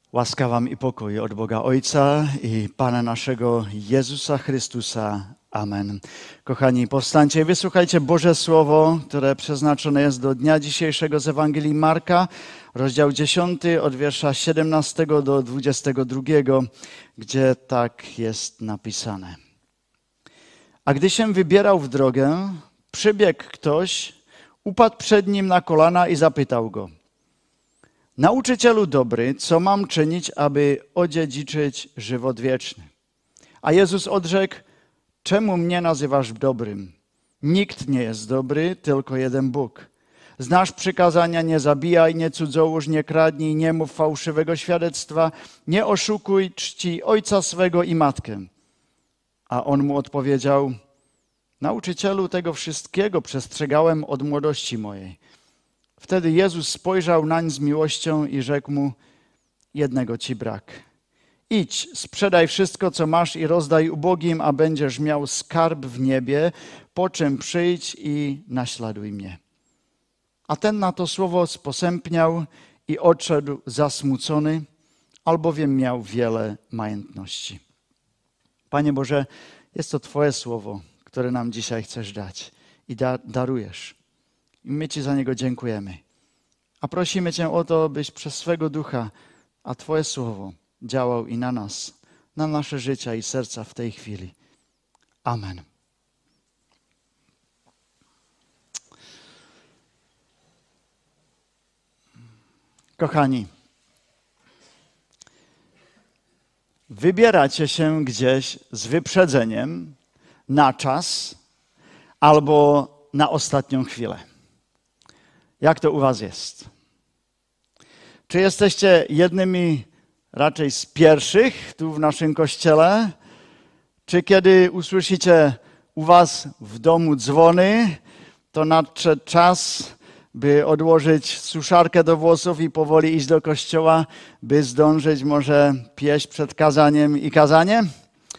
Łaska wam i pokój od Boga Ojca i Pana naszego Jezusa Chrystusa. Amen. Kochani, powstańcie i wysłuchajcie Boże Słowo, które przeznaczone jest do dnia dzisiejszego z Ewangelii Marka, rozdział 10 od wiersza 17 do 22, gdzie tak jest napisane. A gdy się wybierał w drogę, przybiegł ktoś, upadł przed nim na kolana i zapytał go: Nauczycielu dobry, co mam czynić, aby odziedziczyć żywot wieczny? A Jezus odrzekł: czemu mnie nazywasz dobrym? Nikt nie jest dobry, tylko jeden Bóg. Znasz przykazania: nie zabijaj, nie cudzołóż, nie kradnij, nie mów fałszywego świadectwa, nie oszukuj, czcij ojca swego i matkę. A on mu odpowiedział: Nauczycielu, tego wszystkiego przestrzegałem od młodości mojej. Wtedy Jezus spojrzał nań z miłością i rzekł mu: jednego ci brak. Idź, sprzedaj wszystko, co masz i rozdaj ubogim, a będziesz miał skarb w niebie, po czym przyjdź i naśladuj mnie. A ten na to słowo sposępniał i odszedł zasmucony, albowiem miał wiele majątności. Panie Boże, jest to Twoje słowo, które nam dzisiaj chcesz dać i darujesz. I my Ci za niego dziękujemy. A prosimy Cię o to, byś przez swego Ducha, a Twoje słowo działał i na nas, na nasze życia i serca w tej chwili. Amen. Kochani, wybieracie się gdzieś z wyprzedzeniem na czas albo na ostatnią chwilę. Jak to u was jest? Czy jesteście jednymi raczej z pierwszych tu w naszym kościele? Czy kiedy usłyszycie u was w domu dzwony, to nadszedł czas, by odłożyć suszarkę do włosów i powoli iść do kościoła, by zdążyć może pieść przed kazaniem i kazaniem?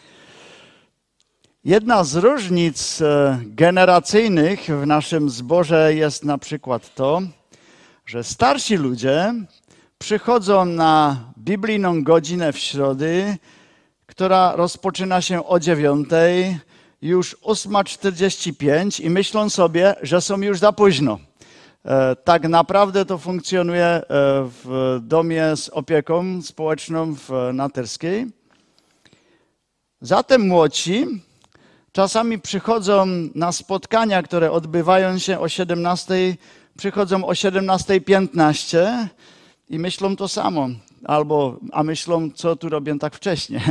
Jedna z różnic generacyjnych w naszym zborze jest na przykład to, że starsi ludzie przychodzą na biblijną godzinę w środy, która rozpoczyna się o 9:00, już 8:45 i myślą sobie, że są już za późno. Tak naprawdę to funkcjonuje w domie z opieką społeczną w Naterskiej. Zatem młodsi czasami przychodzą na spotkania, które odbywają się o 17:00, przychodzą o 17:15 i myślą to samo. A myślą, co tu robią tak wcześnie.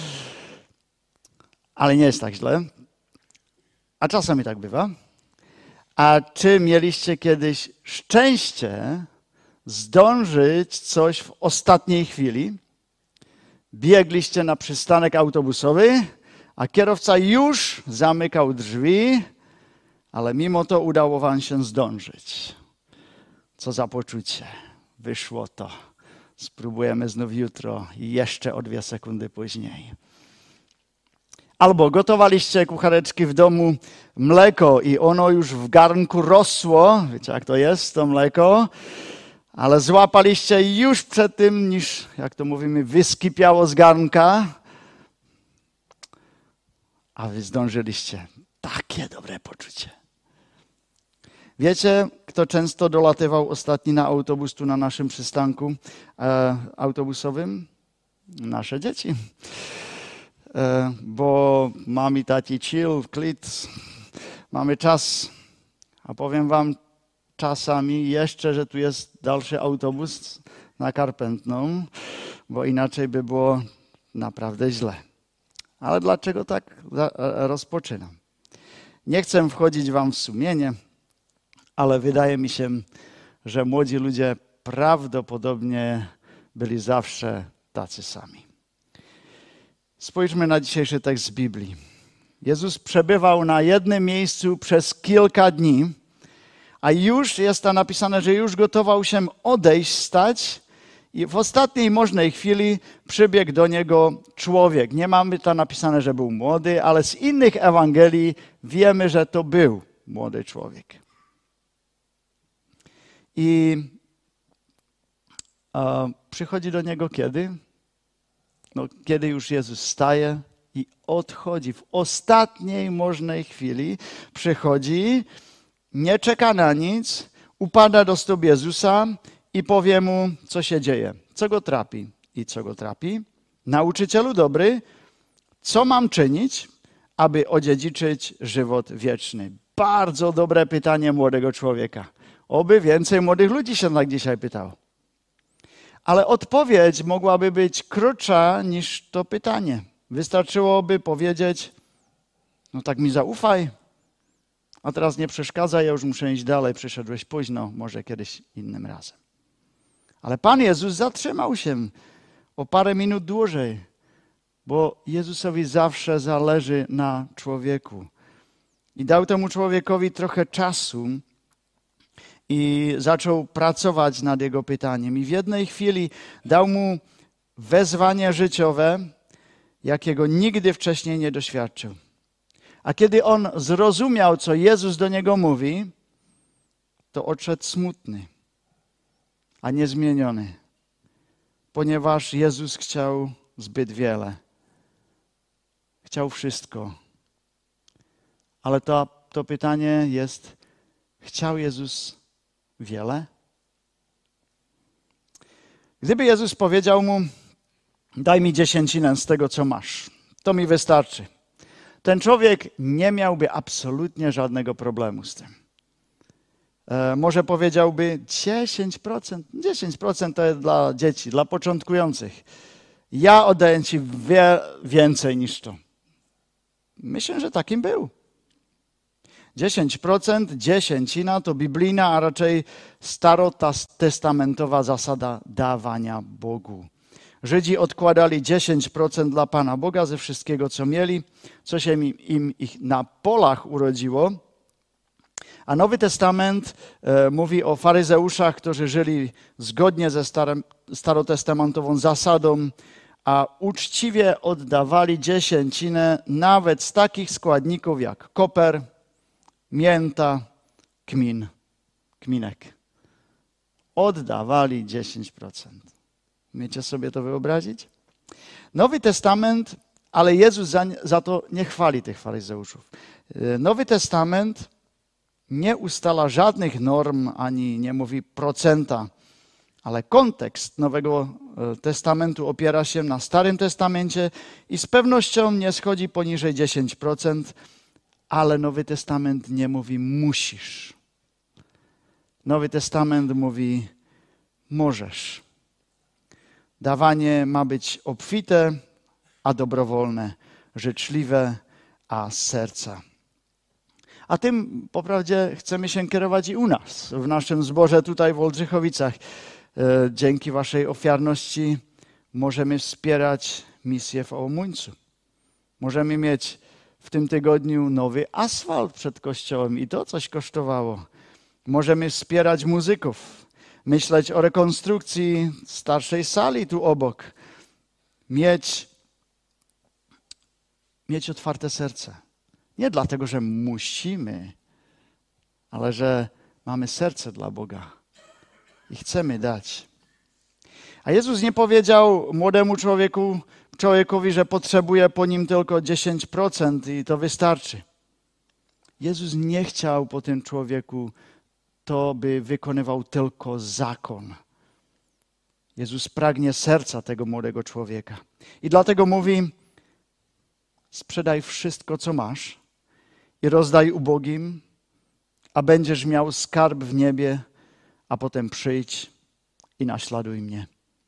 Ale nie jest tak źle. A czasami tak bywa. A czy mieliście kiedyś szczęście zdążyć coś w ostatniej chwili? Biegliście na przystanek autobusowy, a kierowca już zamykał drzwi, ale mimo to udało wam się zdążyć. Co za poczucie. Wyszło to. Spróbujemy znów jutro i jeszcze o 2 sekundy później. Albo gotowaliście kuchareczki w domu mleko i ono już w garnku rosło. Wiecie, jak to jest, to mleko? Ale złapaliście już przed tym, niż, jak to mówimy, wyskipiało z garnka. A wy zdążyliście. Takie dobre poczucie. Wiecie, kto często dolatywał ostatni na autobus tu na naszym przystanku autobusowym? Nasze dzieci. Bo mami, taci, chill, klit, mamy czas. A powiem wam czasami jeszcze, że tu jest dalszy autobus na Karpętną, bo inaczej by było naprawdę źle. Ale dlaczego tak rozpoczynam? Nie chcę wchodzić wam w sumienie, ale wydaje mi się, że młodzi ludzie prawdopodobnie byli zawsze tacy sami. Spójrzmy na dzisiejszy tekst z Biblii. Jezus przebywał na jednym miejscu przez kilka dni, a już jest tam napisane, że już gotował się odejść, stać i w ostatniej możnej chwili przybiegł do niego człowiek. Nie mamy tam napisane, że był młody, ale z innych Ewangelii wiemy, że to był młody człowiek. I A przychodzi do niego kiedy? No, kiedy już Jezus staje i odchodzi. W ostatniej możnej chwili przychodzi, nie czeka na nic, upada do stóp Jezusa i powie mu, co się dzieje, co go trapi. I co go trapi? Nauczycielu dobry, co mam czynić, aby odziedziczyć żywot wieczny? Bardzo dobre pytanie młodego człowieka. Oby więcej młodych ludzi się tak dzisiaj pytało. Ale odpowiedź mogłaby być krótsza niż to pytanie. Wystarczyłoby powiedzieć, no tak mi zaufaj, a teraz nie przeszkadzaj, ja już muszę iść dalej, przyszedłeś późno, może kiedyś innym razem. Ale Pan Jezus zatrzymał się o parę minut dłużej, bo Jezusowi zawsze zależy na człowieku. I dał temu człowiekowi trochę czasu i zaczął pracować nad jego pytaniem. I w jednej chwili dał mu wezwanie życiowe, jakiego nigdy wcześniej nie doświadczył. A kiedy on zrozumiał, co Jezus do niego mówi, to odszedł smutny, a nie zmieniony, ponieważ Jezus chciał zbyt wiele. Chciał wszystko. Ale to pytanie jest, chciał Jezus wiele? Gdyby Jezus powiedział mu, daj mi 10% z tego, co masz, to mi wystarczy. Ten człowiek nie miałby absolutnie żadnego problemu z tym. Może powiedziałby 10%. 10% to jest dla dzieci, dla początkujących. Ja oddaję ci więcej niż to. Myślę, że takim był. 10%, dziesięcina to biblijna, a raczej starotestamentowa zasada dawania Bogu. Żydzi odkładali 10% dla Pana Boga ze wszystkiego, co mieli, co się im na polach urodziło. A Nowy Testament mówi o faryzeuszach, którzy żyli zgodnie ze starotestamentową zasadą, a uczciwie oddawali dziesięcinę nawet z takich składników jak koper, mięta, kminek. Oddawali 10%. Umiecie sobie to wyobrazić? Nowy Testament, ale Jezus za to nie chwali tych faryzeuszów. Nowy Testament nie ustala żadnych norm, ani nie mówi procenta, ale kontekst Nowego Testamentu opiera się na Starym Testamencie i z pewnością nie schodzi poniżej 10%, ale Nowy Testament nie mówi musisz. Nowy Testament mówi możesz. Dawanie ma być obfite, a dobrowolne, życzliwe, a z serca. A tym poprawdzie chcemy się kierować i u nas, w naszym zborze tutaj w Oldrzychowicach. Dzięki waszej ofiarności możemy wspierać misję w Ołomuńcu. Możemy mieć w tym tygodniu nowy asfalt przed kościołem i to coś kosztowało. Możemy wspierać muzyków, myśleć o rekonstrukcji starszej sali tu obok. Mieć otwarte serce. Nie dlatego, że musimy, ale że mamy serce dla Boga i chcemy dać. A Jezus nie powiedział młodemu człowiekowi, że potrzebuje po nim tylko 10% i to wystarczy. Jezus nie chciał po tym człowieku to, by wykonywał tylko zakon. Jezus pragnie serca tego młodego człowieka. I dlatego mówi, sprzedaj wszystko, co masz i rozdaj ubogim, a będziesz miał skarb w niebie, a potem przyjdź i naśladuj mnie.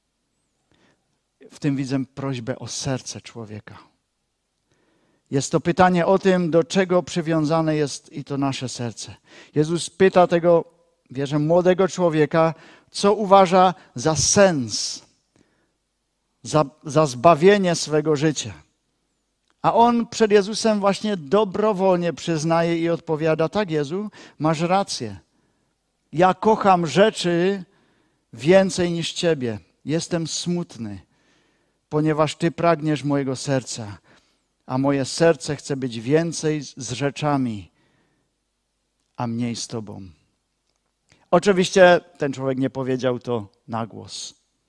W tym widzę prośbę o serce człowieka. Jest to pytanie o tym, do czego przywiązane jest i to nasze serce. Jezus pyta tego, wierzę, młodego człowieka, co uważa za sens, za zbawienie swego życia. A on przed Jezusem właśnie dobrowolnie przyznaje i odpowiada, tak Jezu, masz rację. Ja kocham rzeczy więcej niż Ciebie. Jestem smutny, ponieważ Ty pragniesz mojego serca, a moje serce chce być więcej z rzeczami, a mniej z Tobą. Oczywiście ten człowiek nie powiedział to na głos.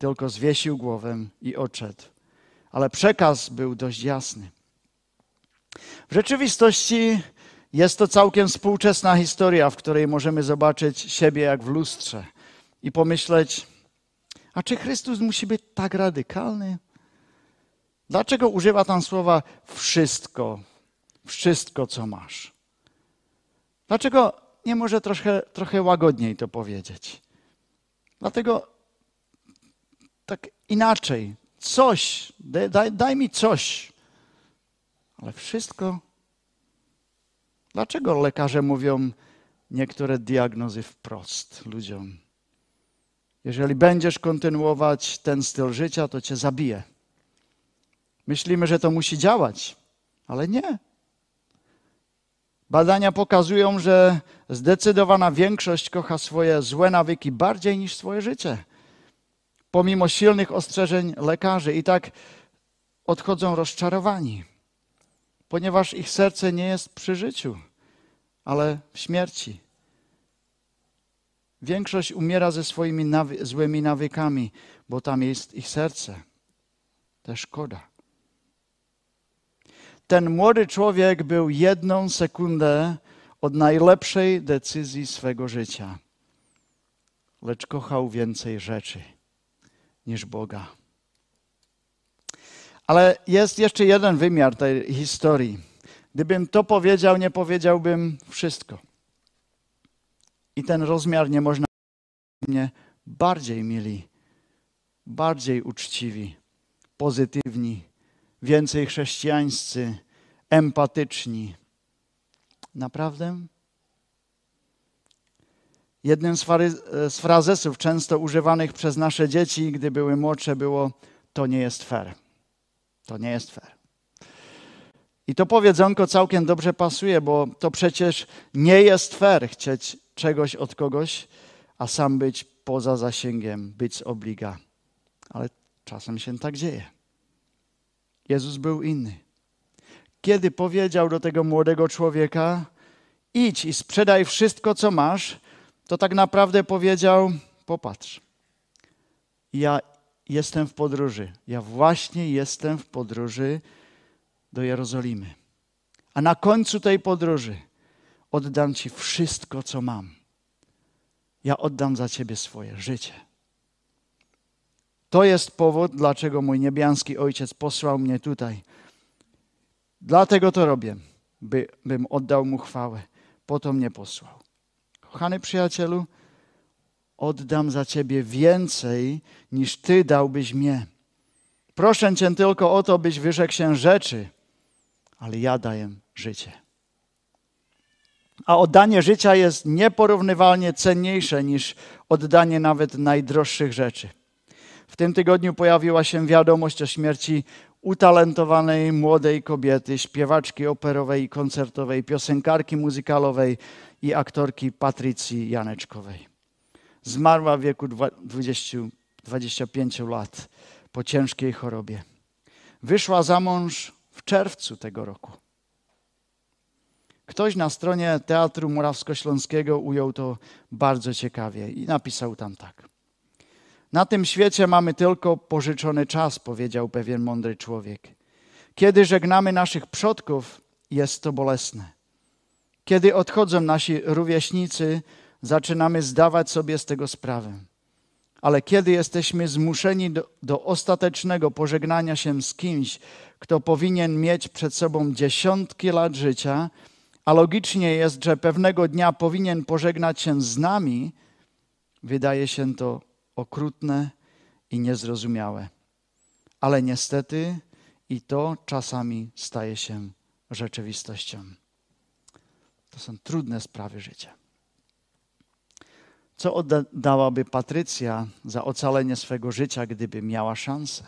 tylko zwiesił głowę i odszedł. Ale przekaz był dość jasny. W rzeczywistości jest to całkiem współczesna historia, w której możemy zobaczyć siebie jak w lustrze i pomyśleć, a czy Chrystus musi być tak radykalny? Dlaczego używa tam słowa wszystko, co masz? Dlaczego nie może trochę łagodniej to powiedzieć? Dlatego tak inaczej, coś, daj mi coś, ale wszystko. Dlaczego lekarze mówią niektóre diagnozy wprost ludziom? Jeżeli będziesz kontynuować ten styl życia, to cię zabije. Myślimy, że to musi działać, ale nie. Badania pokazują, że zdecydowana większość kocha swoje złe nawyki bardziej niż swoje życie. Pomimo silnych ostrzeżeń lekarzy i tak odchodzą rozczarowani, ponieważ ich serce nie jest przy życiu, ale w śmierci. Większość umiera ze swoimi złymi nawykami, bo tam jest ich serce. To szkoda. Ten młody człowiek był 1 sekundę od najlepszej decyzji swego życia, lecz kochał więcej rzeczy niż Boga. Ale jest jeszcze jeden wymiar tej historii. Gdybym to powiedział, nie powiedziałbym wszystko. I ten rozmiar nie można mnie bardziej mili, bardziej uczciwi, pozytywni, więcej chrześcijańscy, empatyczni. Naprawdę? Jednym z frazesów często używanych przez nasze dzieci, gdy były młodsze, było: to nie jest fair. To nie jest fair. I to powiedzonko całkiem dobrze pasuje, bo to przecież nie jest fair chcieć czegoś od kogoś, a sam być poza zasięgiem, być z obliga. Ale czasem się tak dzieje. Jezus był inny. Kiedy powiedział do tego młodego człowieka: idź i sprzedaj wszystko, co masz, to tak naprawdę powiedział: popatrz, ja jestem w podróży. Ja właśnie jestem w podróży do Jerozolimy. A na końcu tej podróży oddam Ci wszystko, co mam. Ja oddam za Ciebie swoje życie. To jest powód, dlaczego mój niebiański Ojciec posłał mnie tutaj. Dlatego to robię, bym oddał Mu chwałę. Po to mnie posłał. Kochany przyjacielu, oddam za Ciebie więcej, niż Ty dałbyś mnie. Proszę Cię tylko o to, byś wyrzekł się rzeczy, ale ja daję życie. A oddanie życia jest nieporównywalnie cenniejsze niż oddanie nawet najdroższych rzeczy. W tym tygodniu pojawiła się wiadomość o śmierci utalentowanej młodej kobiety, śpiewaczki operowej i koncertowej, piosenkarki muzykalowej i aktorki Patrycji Janeczkowej. Zmarła w wieku 25 lat po ciężkiej chorobie. Wyszła za mąż w czerwcu tego roku. Ktoś na stronie Teatru Morawskośląskiego ujął to bardzo ciekawie i napisał tam tak. Na tym świecie mamy tylko pożyczony czas, powiedział pewien mądry człowiek. Kiedy żegnamy naszych przodków, jest to bolesne. Kiedy odchodzą nasi rówieśnicy, zaczynamy zdawać sobie z tego sprawę. Ale kiedy jesteśmy zmuszeni do ostatecznego pożegnania się z kimś, kto powinien mieć przed sobą dziesiątki lat życia, a logicznie jest, że pewnego dnia powinien pożegnać się z nami, wydaje się to okrutne i niezrozumiałe. Ale niestety i to czasami staje się rzeczywistością. To są trudne sprawy życia. Co oddałaby Patrycja za ocalenie swego życia, gdyby miała szansę?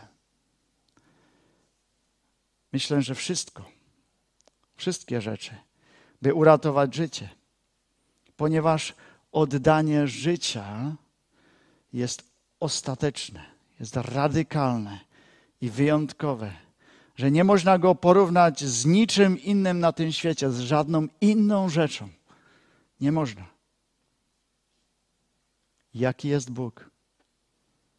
Myślę, że wszystko. Wszystkie rzeczy, by uratować życie. Ponieważ oddanie życia jest ostateczne, jest radykalne i wyjątkowe, że nie można go porównać z niczym innym na tym świecie, z żadną inną rzeczą. Nie można. Jaki jest Bóg?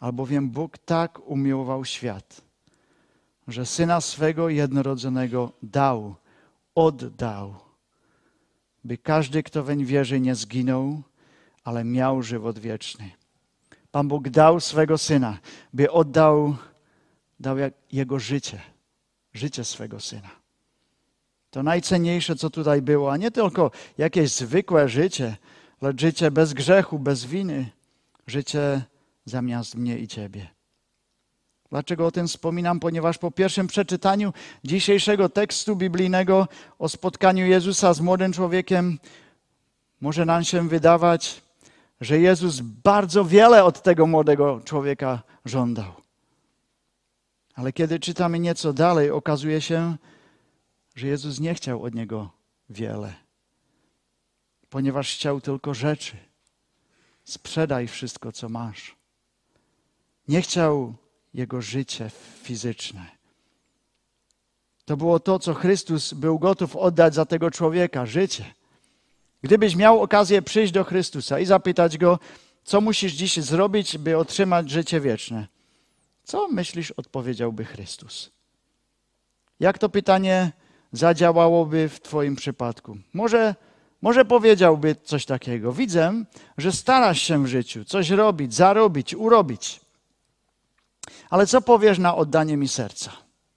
Albowiem Bóg tak umiłował świat, że Syna swego jednorodzonego oddał, by każdy, kto weń wierzy, nie zginął, ale miał żywot wieczny. Pan Bóg dał swego Syna, by dał Jego życie swego Syna. To najcenniejsze, co tutaj było, a nie tylko jakieś zwykłe życie, lecz życie bez grzechu, bez winy, życie zamiast mnie i ciebie. Dlaczego o tym wspominam? Ponieważ po pierwszym przeczytaniu dzisiejszego tekstu biblijnego o spotkaniu Jezusa z młodym człowiekiem może nam się wydawać, że Jezus bardzo wiele od tego młodego człowieka żądał. Ale kiedy czytamy nieco dalej, okazuje się, że Jezus nie chciał od niego wiele, ponieważ chciał tylko rzeczy. Sprzedaj wszystko, co masz. Nie chciał jego życie fizyczne. To było to, co Chrystus był gotów oddać za tego człowieka, życie. Gdybyś miał okazję przyjść do Chrystusa i zapytać Go, co musisz dziś zrobić, by otrzymać życie wieczne, co myślisz, odpowiedziałby Chrystus? Jak to pytanie zadziałałoby w twoim przypadku? Może powiedziałby coś takiego. Widzę, że starasz się w życiu coś robić, zarobić, urobić. Ale co powiesz na oddanie mi serca?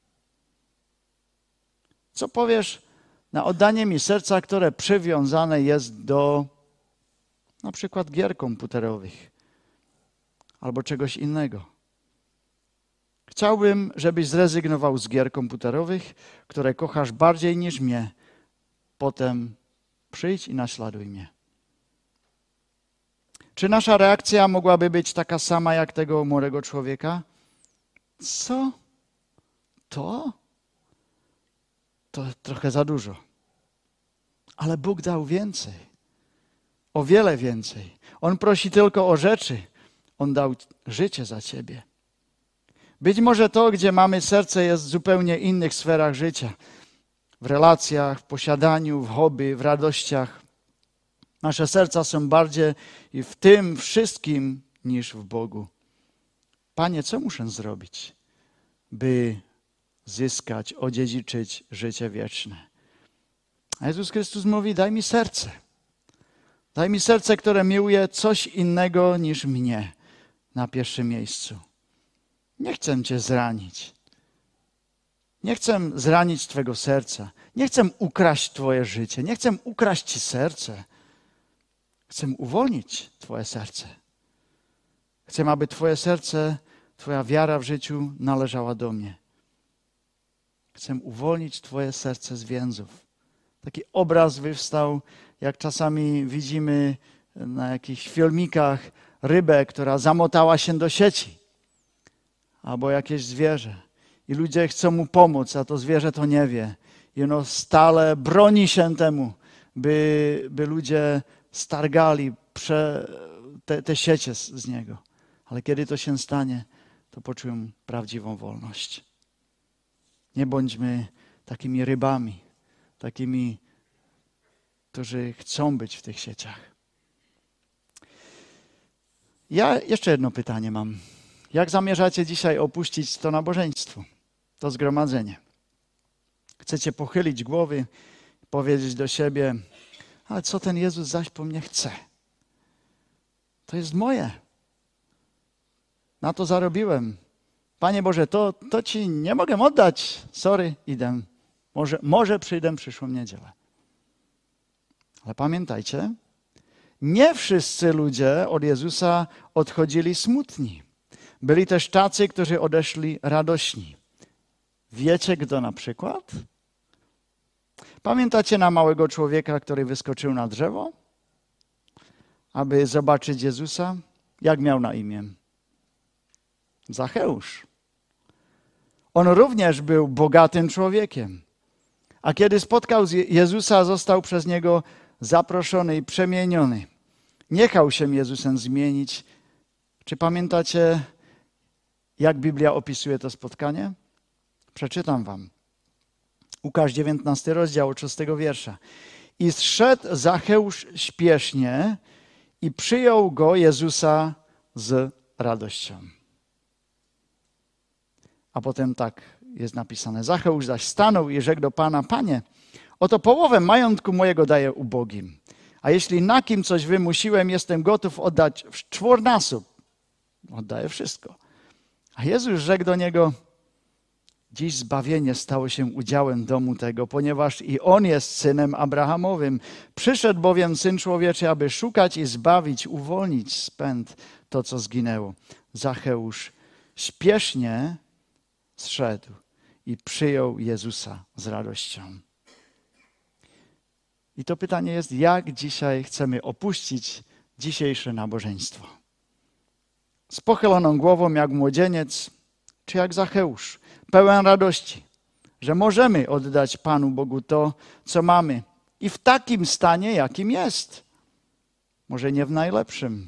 Co powiesz na oddanie mi serca, które przywiązane jest do na przykład gier komputerowych albo czegoś innego? Chciałbym, żebyś zrezygnował z gier komputerowych, które kochasz bardziej niż mnie. Potem przyjdź i naśladuj mnie. Czy nasza reakcja mogłaby być taka sama jak tego młodego człowieka? Co? To trochę za dużo. Ale Bóg dał więcej. O wiele więcej. On prosi tylko o rzeczy. On dał życie za ciebie. Być może to, gdzie mamy serce, jest w zupełnie innych sferach życia. W relacjach, w posiadaniu, w hobby, w radościach. Nasze serca są bardziej w tym wszystkim niż w Bogu. Panie, co muszę zrobić, by zyskać, odziedziczyć życie wieczne? A Jezus Chrystus mówi, daj mi serce. Daj mi serce, które miłuje coś innego niż mnie na pierwszym miejscu. Nie chcę cię zranić. Nie chcę zranić twojego serca. Nie chcę ukraść twoje życie. Nie chcę ukraść ci serce. Chcę uwolnić twoje serce. Chcę, aby twoje serce, twoja wiara w życiu należała do mnie. Chcę uwolnić twoje serce z więzów. Taki obraz wystał, jak czasami widzimy na jakichś filmikach rybę, która zamotała się do sieci. Albo jakieś zwierzę. I ludzie chcą mu pomóc, a to zwierzę to nie wie. I ono stale broni się temu, by ludzie stargali te siecie z niego. Ale kiedy to się stanie, to poczują prawdziwą wolność. Nie bądźmy takimi rybami, takimi, którzy chcą być w tych sieciach. Ja jeszcze jedno pytanie mam. Jak zamierzacie dzisiaj opuścić to nabożeństwo, to zgromadzenie? Chcecie pochylić głowy, powiedzieć do siebie, ale co ten Jezus zaś po mnie chce? To jest moje. Na to zarobiłem. Panie Boże, to Ci nie mogę oddać. Sorry, idę. Może przyjdę przyszłą niedzielę. Ale pamiętajcie, nie wszyscy ludzie od Jezusa odchodzili smutni. Byli też tacy, którzy odeszli radośni. Wiecie, kto na przykład? Pamiętacie na małego człowieka, który wyskoczył na drzewo, aby zobaczyć Jezusa? Jak miał na imię? Zacheusz. On również był bogatym człowiekiem. A kiedy spotkał Jezusa, został przez Niego zaproszony i przemieniony. Nie chciał się Jezusem zmienić. Czy pamiętacie, jak Biblia opisuje to spotkanie? Przeczytam wam. Łukasz 19 rozdział od 6 wiersza. I zszedł Zacheusz śpiesznie i przyjął go Jezusa z radością. A potem tak jest napisane. Zacheusz zaś stanął i rzekł do Pana: Panie, oto połowę majątku mojego daję ubogim. A jeśli na kim coś wymusiłem, jestem gotów oddać w czwornasób. Oddaję wszystko. A Jezus rzekł do niego: dziś zbawienie stało się udziałem domu tego, ponieważ i on jest synem Abrahamowym. Przyszedł bowiem Syn Człowieczy, aby szukać i zbawić, uwolnić z pęd to, co zginęło. Zacheusz śpiesznie zszedł i przyjął Jezusa z radością. I to pytanie jest, jak dzisiaj chcemy opuścić dzisiejsze nabożeństwo? Z pochyloną głową jak młodzieniec, czy jak Zacheusz, pełen radości, że możemy oddać Panu Bogu to, co mamy. I w takim stanie, jakim jest. Może nie w najlepszym.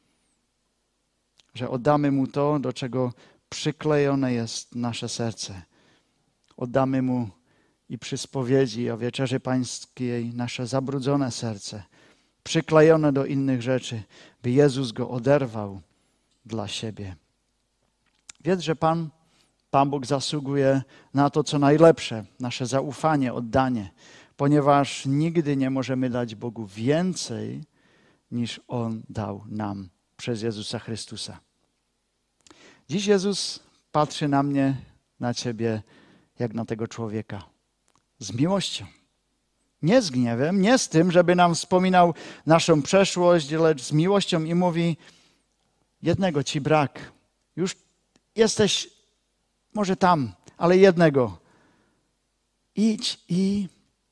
Że oddamy Mu to, do czego przyklejone jest nasze serce. Oddamy Mu i przy spowiedzi o Wieczerzy Pańskiej nasze zabrudzone serce, przyklejone do innych rzeczy, by Jezus go oderwał dla siebie. Wiedz, że Pan Bóg zasługuje na to, co najlepsze, nasze zaufanie, oddanie, ponieważ nigdy nie możemy dać Bogu więcej, niż On dał nam przez Jezusa Chrystusa. Dziś Jezus patrzy na mnie, na ciebie, jak na tego człowieka. Z miłością. Nie z gniewem, nie z tym, żeby nam wspominał naszą przeszłość, lecz z miłością i mówi: jednego ci brak. Już jesteś może tam, ale jednego. Idź i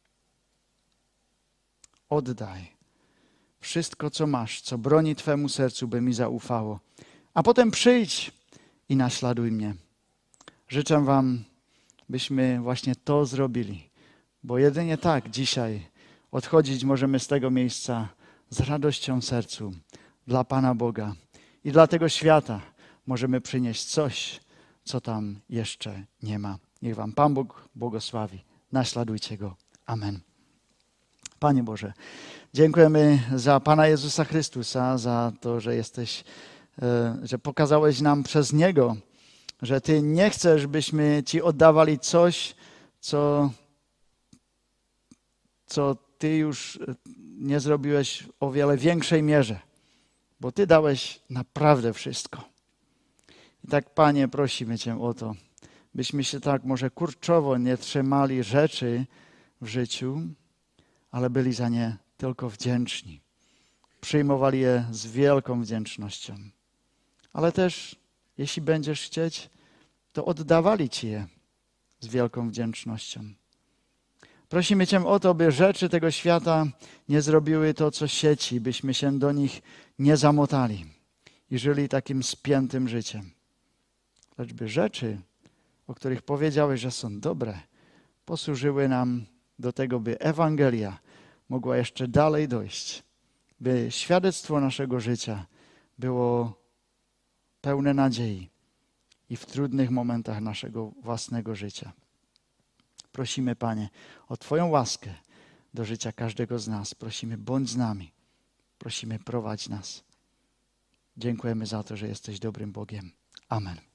oddaj wszystko, co masz, co broni twemu sercu, by mi zaufało. A potem przyjdź i naśladuj mnie. Życzę wam, byśmy właśnie to zrobili, bo jedynie tak dzisiaj odchodzić możemy z tego miejsca z radością w sercu dla Pana Boga i dla tego świata możemy przynieść coś, co tam jeszcze nie ma. Niech wam Pan Bóg błogosławi. Naśladujcie Go. Amen. Panie Boże, dziękujemy za Pana Jezusa Chrystusa, za to, że że pokazałeś nam przez Niego, że Ty nie chcesz, byśmy Ci oddawali coś, co Ty już nie zrobiłeś w o wiele większej mierze, bo Ty dałeś naprawdę wszystko. I tak, Panie, prosimy Cię o to, byśmy się tak może kurczowo nie trzymali rzeczy w życiu, ale byli za nie tylko wdzięczni. Przyjmowali je z wielką wdzięcznością. Ale też, jeśli będziesz chcieć, to oddawali Ci je z wielką wdzięcznością. Prosimy Cię o to, by rzeczy tego świata nie zrobiły to, co sieci, byśmy się do nich nie zamotali i żyli takim spiętym życiem. Lecz by rzeczy, o których powiedziałeś, że są dobre, posłużyły nam do tego, by Ewangelia mogła jeszcze dalej dojść, by świadectwo naszego życia było pełne nadziei i w trudnych momentach naszego własnego życia. Prosimy, Panie, o Twoją łaskę do życia każdego z nas. Prosimy, bądź z nami. Prosimy, prowadź nas. Dziękujemy za to, że jesteś dobrym Bogiem. Amen.